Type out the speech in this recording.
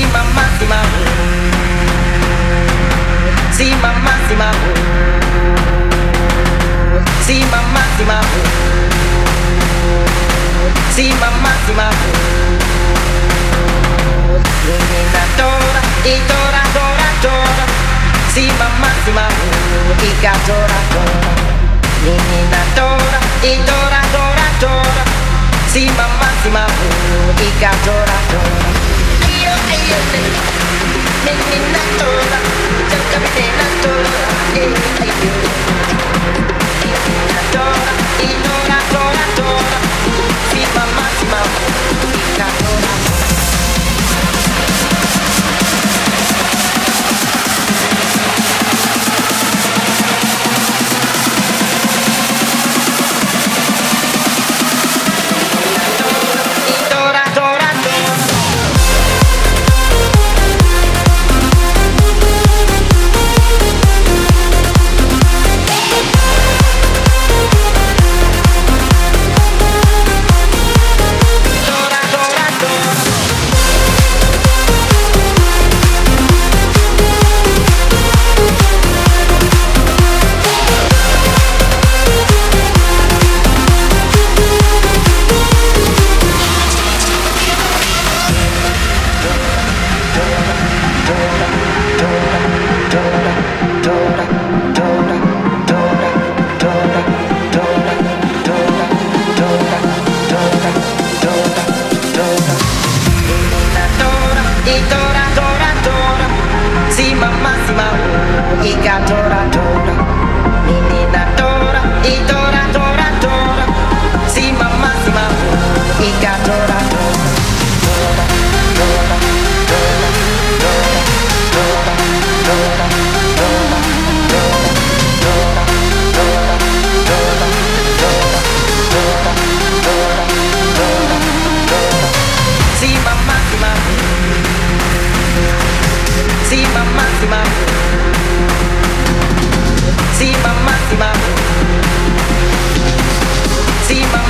mamma, sì mamma. Sì mamma, sì mamma. Sì mamma, sì mamma. Sì mamma, sì mamma. Menina tora, e tora, tora, tora. Sì mamma, sì mamma. Ica tora, tora. Menina tora, e tora, tora, tora. Sì mamma, sì mamma. Ica tora, tora. Io, menina tora, cerca menina tora. Menina tora, e tora, tora, tora. Sì mamma, sì mamma. Ica tora. See my